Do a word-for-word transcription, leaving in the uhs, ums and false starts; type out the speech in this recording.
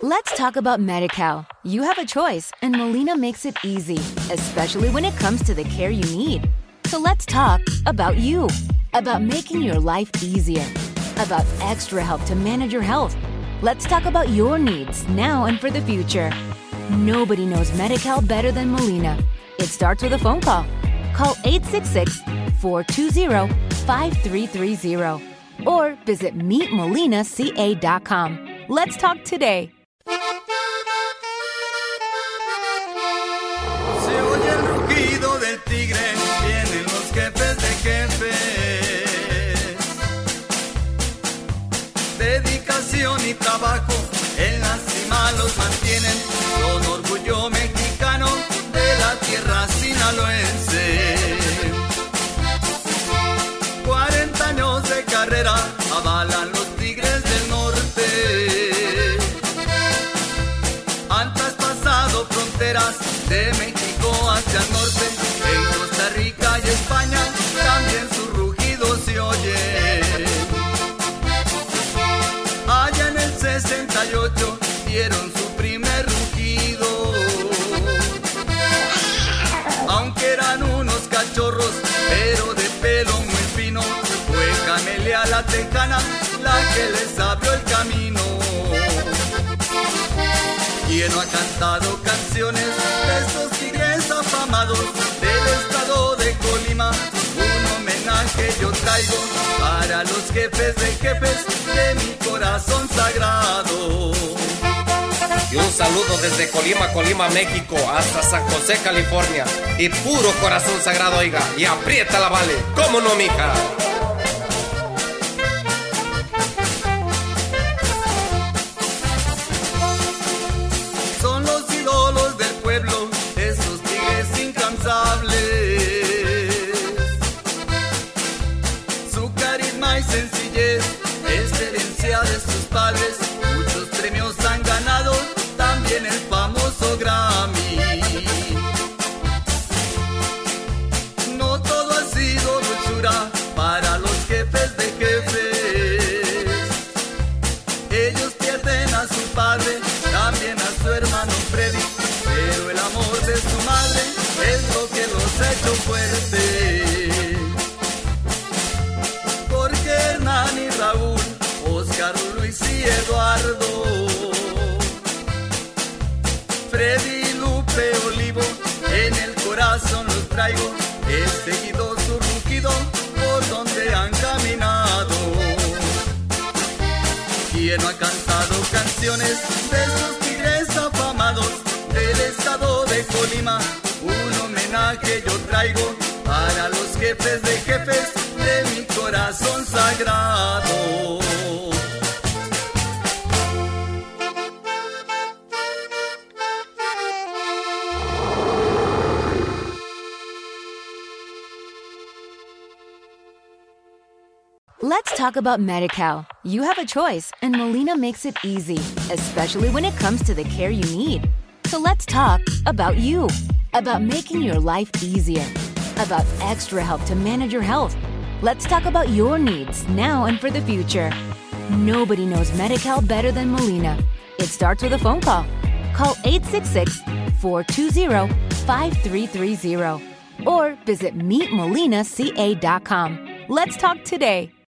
Let's talk about Medi-Cal. You have a choice, and Molina makes it easy, especially when it comes to the care you need. So let's talk about you, about making your life easier, about extra help to manage your health. Let's talk about your needs now and for the future. Nobody knows Medi-Cal better than Molina. It starts with a phone call. Call eight six six, four two zero, five three three zero or visit meet molina c a dot com. Let's talk today. Se oye el rugido del tigre, vienen los jefes de jefes. Dedicación y trabajo en la cima los mantienen. Son orgullo mexicano de la tierra sinaloense. cuarenta años de carrera avalan los Tigres del Norte. Han traspasado fronteras de México hacia el norte. En Costa Rica y España también su rugido se oye. Allá en el sesenta y ocho dieron su primer rugido. Aunque eran unos cachorros, pero de pelo muy fino, fue Camelia la Tejana la que les abrió el camino. ¿Quién no ha cantado canciones de estos tigres afamados del estado de Colima? Un homenaje yo traigo para los jefes de jefes de mi corazón sagrado. Y un saludo desde Colima, Colima, México, hasta San José, California. Y puro corazón sagrado, oiga, y aprieta la vale, ¿cómo no, mija? Son los ídolos del pueblo, esos tigres incansables. Su carisma y sencillez es herencia de sus padres. Muchos premios han ganado, también el famoso Grammy. No todo ha sido dulzura para los jefes de jefes. Ellos pierden a su padre, también a su hermano Freddy, pero el amor de su madre es lo que los ha hecho fuertes. Porque Hernán y Raúl, Oscar, Luis y Eduardo, Freddy, Lupe, Olivo, en el corazón los traigo. He seguido su rugido por donde han caminado. ¿Quién no ha cantado canciones de esos tigres afamados del estado de Colima? Un homenaje yo traigo para los jefes de jefes de mi corazón sagrado. Let's talk about Medi-Cal. You have a choice, and Molina makes it easy, especially when it comes to the care you need. So let's talk about you, about making your life easier, about extra help to manage your health. Let's talk about your needs now and for the future. Nobody knows Medi-Cal better than Molina. It starts with a phone call. Call eight six six, four two zero, five three three zero or visit meet molina c a dot com. Let's talk today.